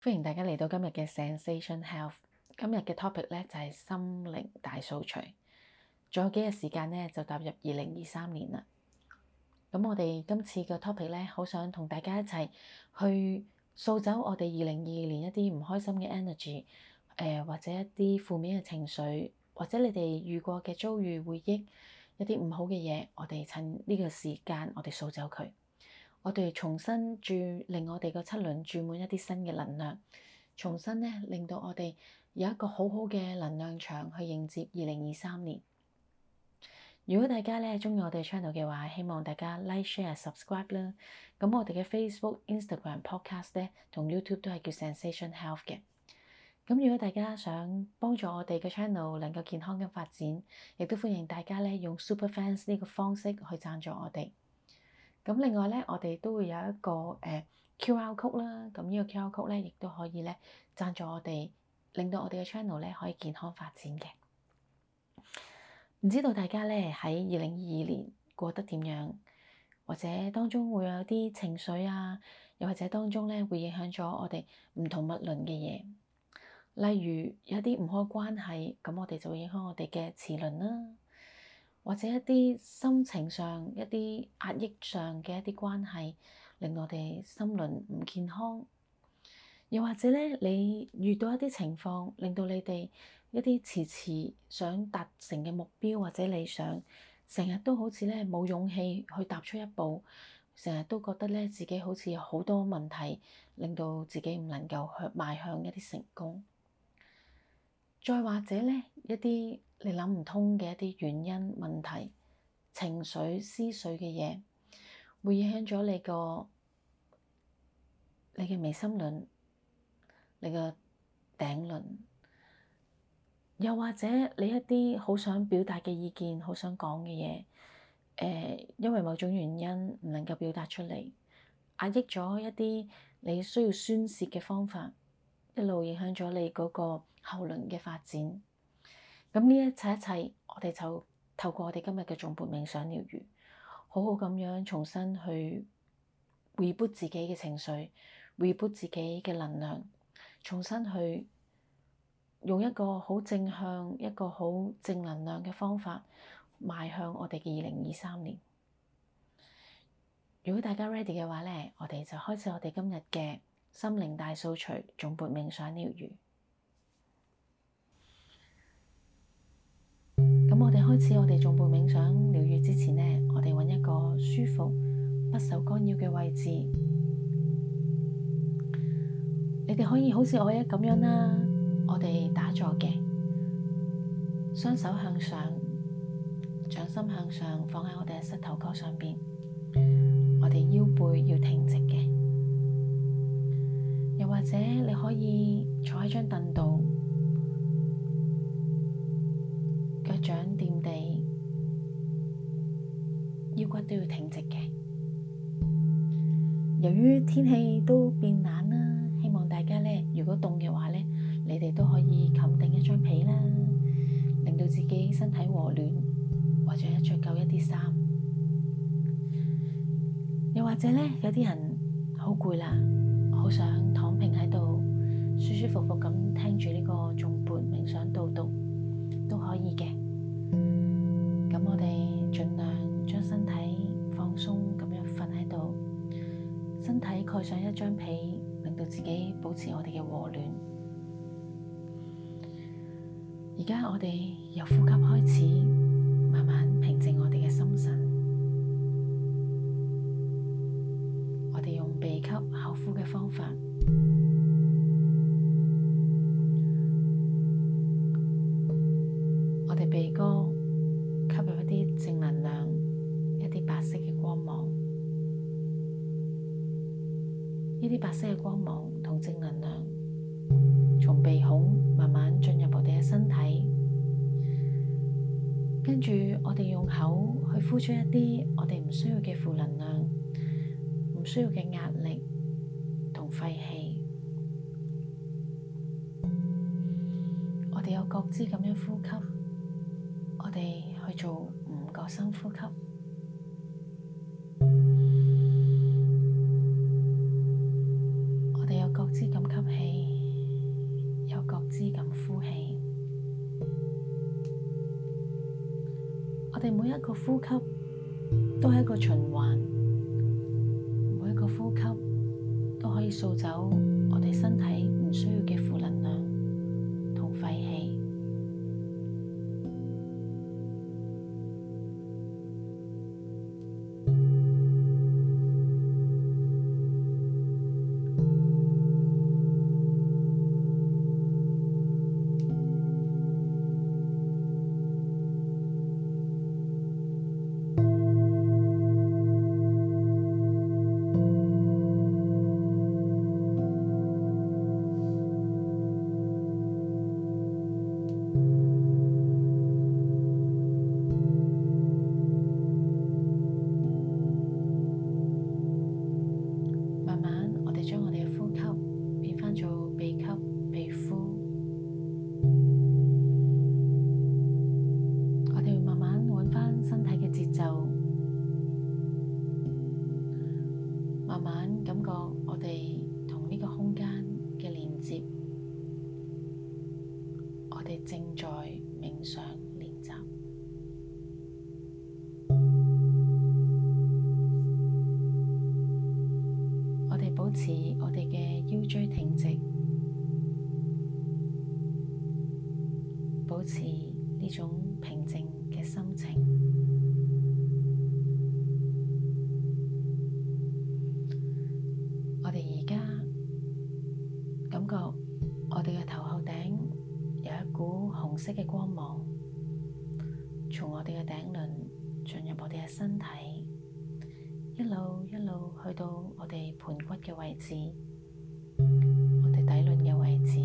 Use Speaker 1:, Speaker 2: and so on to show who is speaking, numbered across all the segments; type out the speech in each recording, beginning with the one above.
Speaker 1: 歡迎大家嚟到今日嘅 Zensation Health。今日嘅 topic 咧就係心靈大掃除。仲有幾日時間咧就踏入2023年啦。咁我哋今次嘅 topic 咧，好想同大家一齊去掃走我哋2022年一啲唔開心嘅 energy，或者一啲負面嘅情緒，或者你哋遇過嘅遭遇回憶，一啲唔好嘅嘢，我哋趁呢個時間，我哋掃走佢。我哋重新令我哋個七輪注滿一啲新嘅能量，重新咧令到我哋有一個好好嘅能量場去迎接2023年。如果大家咧鍾意我哋 channel 嘅話，希望大家 like、share、subscribe 啦。咁我哋嘅 Facebook、Instagram、Podcast 咧同 YouTube 都係叫 Zensation Health 嘅。咁如果大家想幫助我哋嘅 channel 能夠健康嘅發展，亦都歡迎大家咧用 Super Fans 呢個方式去贊助我哋。咁另外咧，我哋都會有一個QR code 啦。咁呢個 QR code 咧，亦都可以咧贊助我哋，令到我哋嘅 channel 咧可以健康發展嘅。唔知道大家咧喺2022年過得點樣，或者當中會有啲情緒啊，又或者當中咧會影響咗我哋唔同脈輪嘅嘢。例如有啲唔開關係，咁我哋就會影響我哋嘅臍輪啦。或者一啲心情上、一啲壓抑上嘅一啲關係，令我哋心輪唔健康。又或者咧，你遇到一啲情況，令到你哋一啲遲遲想達成嘅目標或者理想，成日都好似咧冇勇氣去踏出一步，成日都覺得咧自己好似有好多問題，令到自己唔能夠邁向一啲成功。再或者咧，一啲你諗唔通嘅一啲原因、問題、情緒、思緒嘅嘢，會影響咗你嘅眉心輪、你嘅頂輪，又或者你一啲好想表達嘅意見、好想講嘅嘢，因為某種原因唔能夠表達出嚟，壓抑咗一啲你需要宣洩嘅方法，一路影響咗你嗰個後輪嘅發展。咁呢一切，我哋就透過我哋今日嘅頌缽冥想療癒，好好咁樣重新去 reboot 自己嘅情緒，reboot 自己嘅能量，重新去用一個好正向、一個好正能量嘅方法，邁向我哋嘅2023年。如果大家 ready 嘅話咧，我哋就開始我哋今日嘅心靈大掃除頌缽冥想療癒。咁我哋開始我哋頌缽冥想療癒之前呢，我哋揾一個舒服、不受干擾嘅位置。你哋可以好似我咁樣啦，我哋打坐嘅，雙手向上，掌心向上，放喺我哋嘅膝頭哥上邊。我哋腰背要挺直嘅，又或者你可以坐喺張凳度。腳掌掂地，腰骨都要挺直嘅。由於天氣都變冷啦，希望大家咧，如果凍嘅話咧，你哋都可以冚定一張被啦，令到自己身體和暖，或者着夠一啲衫。又或者咧，有啲人好攰啦，好想躺平喺度，舒舒服服咁聽住呢個頌缽冥想導讀。都可以嘅，咁我哋盡量將身體放鬆咁樣瞓喺度，身體蓋上一張被，令到自己保持我哋嘅和暖。而家我哋由呼吸開始，慢慢平靜我哋嘅心神。我哋用鼻吸口呼嘅方法。我哋鼻哥吸入一啲正能量，一啲白色嘅光芒。呢啲白色嘅光芒同正能量從鼻孔慢慢進入我哋嘅身體，跟住我哋用口去呼出一啲我哋唔需要嘅負能量，唔需要嘅壓力同廢氣。我哋有覺知咁樣呼吸。我哋去做5個深呼吸。我哋有覺知咁吸氣。 哋每一個呼吸都係一個循環，每一個呼吸都可以掃走我哋身體唔需要嘅負能量同廢氣。正在冥想練習，我哋保持我哋嘅腰椎挺直，保持呢種平靜嘅心情。我哋而家感覺我哋嘅頭後頂有一股紅色嘅光芒，從我哋嘅頂輪進入我哋嘅身體，一路一路去到我哋盤骨嘅位置，我哋底輪嘅位置。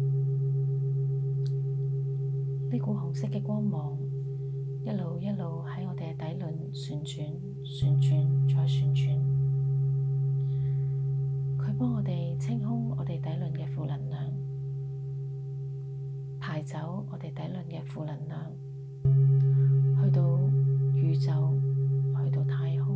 Speaker 1: 呢股紅色嘅光芒一路一路喺我哋嘅底輪旋轉、旋轉再旋轉，佢幫我哋清空我哋底輪嘅負能量，排走我哋底輪嘅負能量，去到宇宙，去到太空。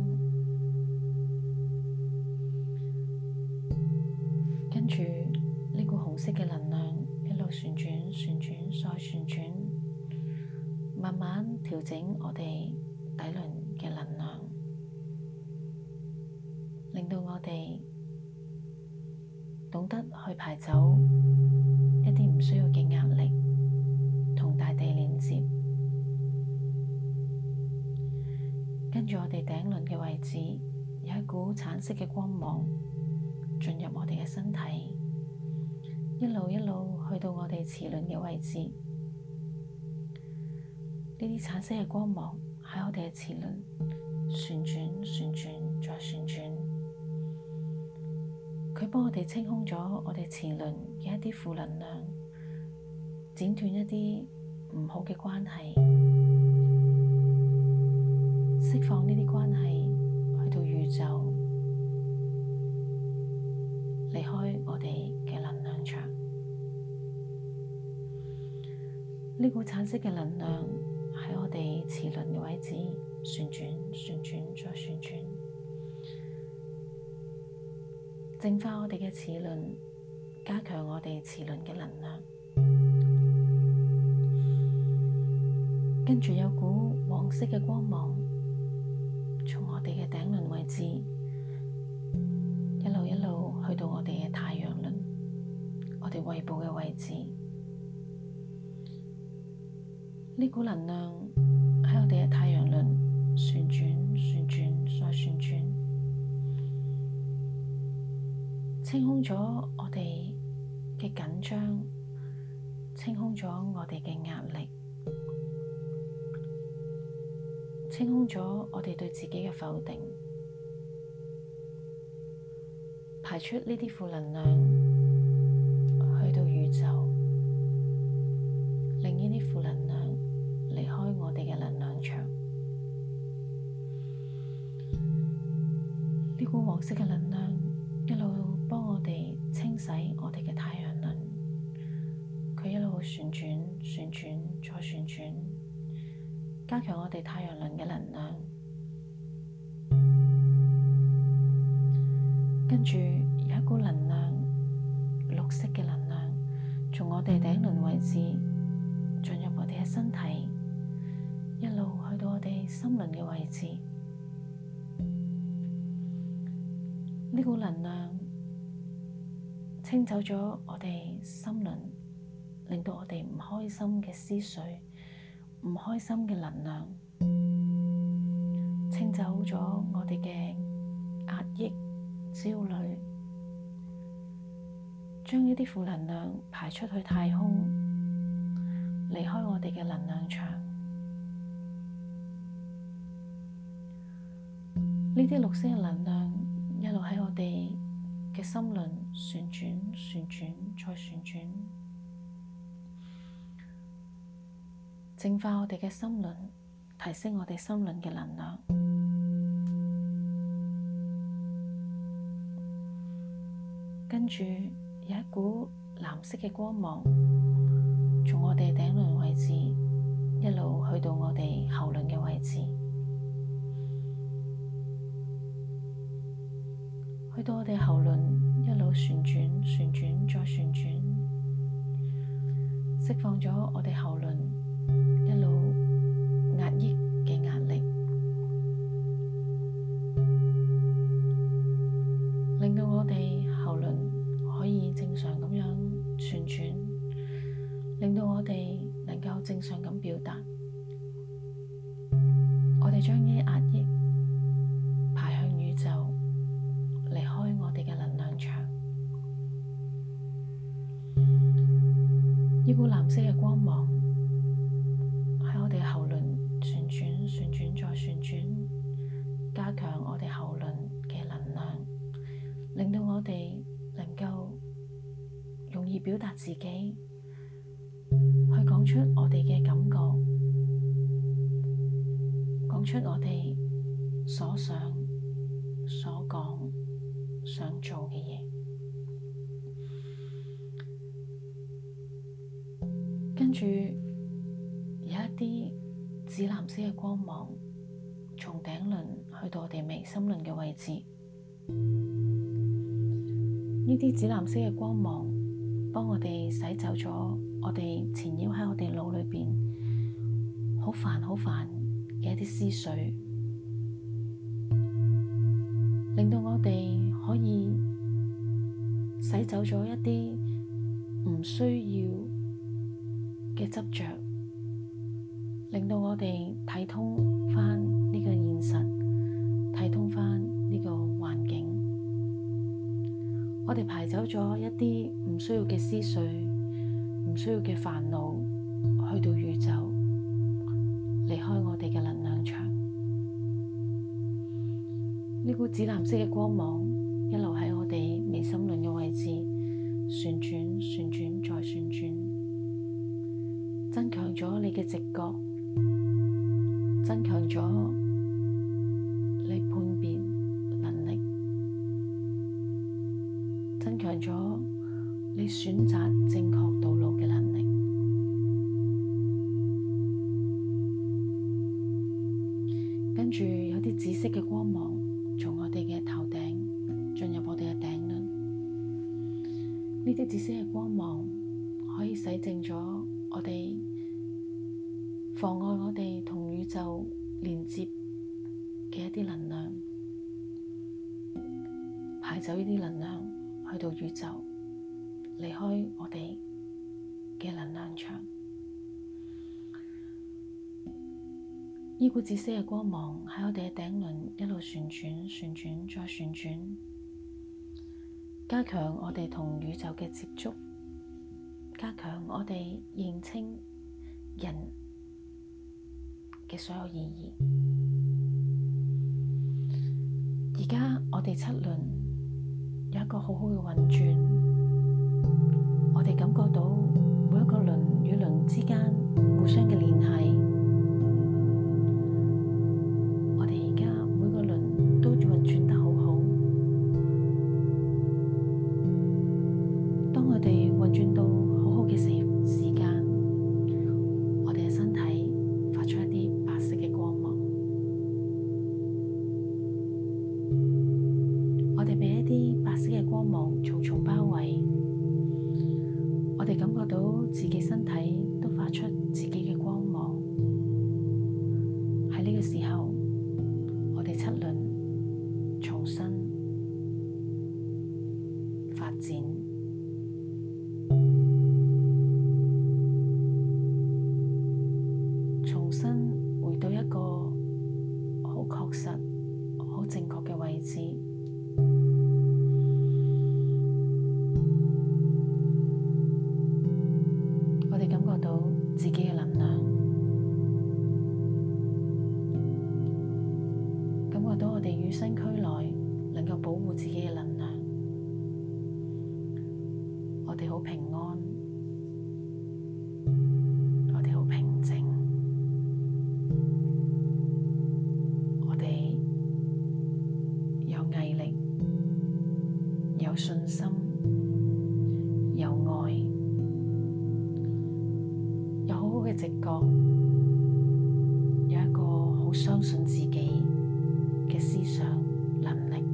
Speaker 1: 跟住呢股紅色嘅能量一路旋轉、旋轉再旋轉，慢慢調整我哋底輪嘅能量，令到我哋懂得去排走一啲唔需要嘅壓力，同大地連接。跟住我哋頂輪嘅位置有一股橙色嘅光芒進入我哋嘅身體，一路一路去到我哋臍輪嘅位置。呢啲橙色嘅光芒喺我哋嘅臍輪旋轉、旋轉再旋轉，佢幫我哋清空咗我哋臍輪嘅一啲負能量，剪斷一啲唔好嘅關係，釋放呢啲關係去到宇宙，離開我哋嘅能量場。呢股橙色嘅能量喺我哋臍輪嘅位置旋轉、旋轉再旋轉，淨化我哋嘅臍輪，加強我哋臍輪嘅能量。跟住有股黃色嘅光芒從我哋嘅頂輪位置一路一路去到我哋嘅太陽輪，我哋胃部嘅位置。呢股能量喺我哋嘅太陽輪旋轉、旋轉再旋轉，清空咗我哋嘅緊張，清空咗我哋嘅壓力，清空咗我哋對自己嘅否定，排出呢啲負能量去到宇宙，令呢啲負能量離開我哋嘅能量場。呢股黃色嘅能量一路幫我哋清洗我哋嘅太陽輪，佢一路旋轉、旋轉再旋轉，加強我哋太陽輪嘅能量。跟住有一股能量，綠色嘅能量從我哋頂輪位置進入我哋嘅身體，一路去到我哋哋心輪嘅位置。呢股能量清走咗我哋心輪，令到我哋唔開心嘅思緒、唔開心嘅能量，清走咗我哋嘅壓抑、焦慮，將呢啲負能量排出去太空，離開我哋嘅能量場。呢啲綠色嘅能量一路喺我哋嘅心輪旋轉、旋轉再旋轉，淨化我哋嘅心輪，提升我哋心輪嘅能量。跟住有一股藍色嘅光芒從我哋頂輪位置一路去到我哋喉輪嘅位置，去到我哋喉輪一路旋轉、旋轉再旋轉，釋放咗我哋喉輪一路壓抑嘅壓力，令到我哋喉輪可以正常咁樣旋轉，令到我哋能夠正常咁表達。我哋將呢啲壓抑排向宇宙，離開我哋嘅能量場。呢股藍色嘅光芒喺我哋喉輪旋轉、旋轉再旋轉，加強我哋喉輪嘅能量，令到我哋能夠容易表達自己，去講出我哋嘅感覺，講出我哋所想、所講、想做嘅嘢。跟住有一啲紫藍色嘅光芒從頂輪去到我哋眉心輪嘅位置，呢啲紫藍色嘅光芒幫我哋洗走咗我哋纏繞喺我哋腦裏邊好煩嘅一啲思緒，令到我哋可以洗走咗一啲唔需要嘅執着，令到我哋睇通返呢個現實，睇通返呢個環境。我哋排走咗一啲唔需要嘅思緒，唔需要嘅煩惱，去到宇宙，離開我哋嘅能量場。呢股紫藍色嘅光芒一路喺我哋眉心輪嘅位置旋轉、旋轉再旋轉，增強咗你嘅直覺，增強咗你判別能力，增強咗你選擇正確道路嘅能力。跟住有啲紫色嘅光芒從我哋嘅頭頂進入我哋嘅頂輪，呢啲紫色嘅光芒可以洗淨咗我哋妨礙我哋同宇宙連接嘅一啲能量，排走呢啲能量去到宇宙，離開我哋嘅能量場。呢股紫色嘅光芒喺我哋嘅頂輪一路旋轉、旋轉再旋轉，加強我哋同宇宙嘅接觸，加強我哋認清人嘅所有意義。而家我哋七輪有一個好好嘅運轉，我哋感覺到每一個輪與輪之間互相嘅聯繫。我哋而家每個輪都運轉得好好。當我哋運轉到好好嘅時間，我哋嘅身體發出一啲白色嘅光芒，我哋被一啲白色嘅光芒重重包圍，我哋感覺到自己身體都發出自己嘅光芒。喺呢個自己嘅能量，感覺到我哋與生俱來能夠保護自己嘅能量，我哋好平安，我哋好平靜，我哋有毅力，有信心，有愛，有好好嘅直覺，有一個好相信自己嘅思想能力。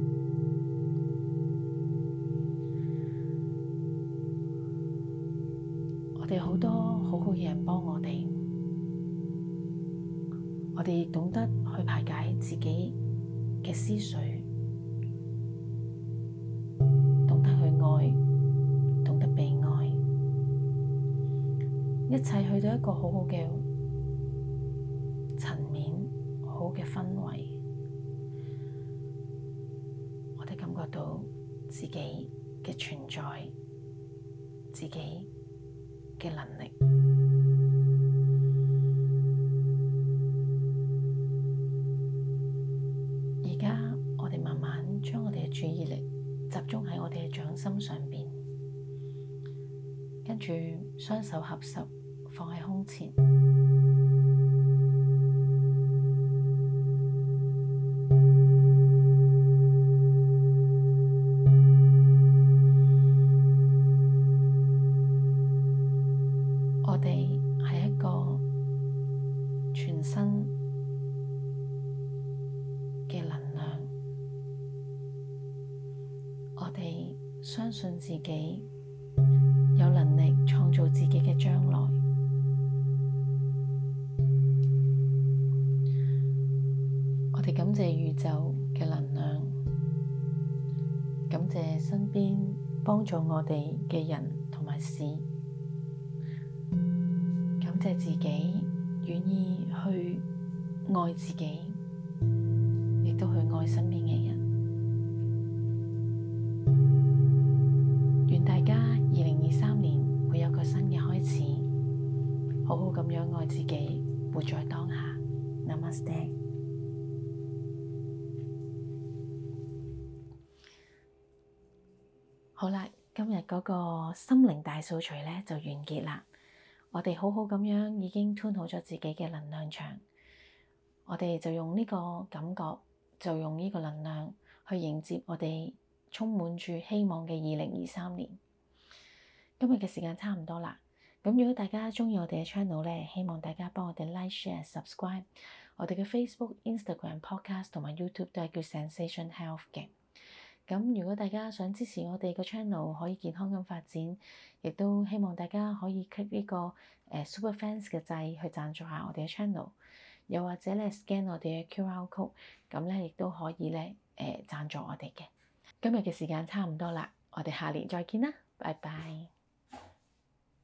Speaker 1: 我哋好多好好嘅人幫我哋，我哋亦懂得去排解自己嘅思緒，懂得去愛，懂得被愛，一切去到一個好好嘅層面，好好嘅氛圍，我哋感覺到自己嘅存在，自己嘅能力。而家我哋慢慢將我哋嘅注意力集中喺我哋嘅掌心上邊，跟住雙手合十放喺胸前，我哋係一個全新嘅能量，我哋相信自己有能力創造自己嘅將來，我哋感謝宇宙嘅能量，感謝身邊幫助我哋嘅人同埋事，感謝自己願意去愛自己，亦都去愛身邊嘅人。願大家2023年會有個新嘅開始，好好咁樣愛自己，活在當下。Namaste。好啦，今日嗰個心靈大掃除呢就完結啦。我哋好好咁樣已經 tune 好咗自己嘅能量場，我哋就用呢個感覺，就用呢個能量去迎接我哋充滿住希望嘅2023年。今日嘅時間差唔多啦，咁如果大家鍾意我哋嘅 channel 咧，希望大家幫我哋 like、share、subscribe。我哋嘅 Facebook、Instagram、Podcast 同埋 YouTube 都係叫 Zensation Health 嘅。咁如果大家想支持我哋個 channel 可以健康咁發展，亦都希望大家可以 click 呢個Super Fans 嘅掣去贊助下我哋嘅 channel， 又或者咧 scan 我哋嘅 QR code， 咁咧亦都可以咧贊助我哋嘅。今日嘅時間差唔多啦，我哋下年再見啦，拜拜。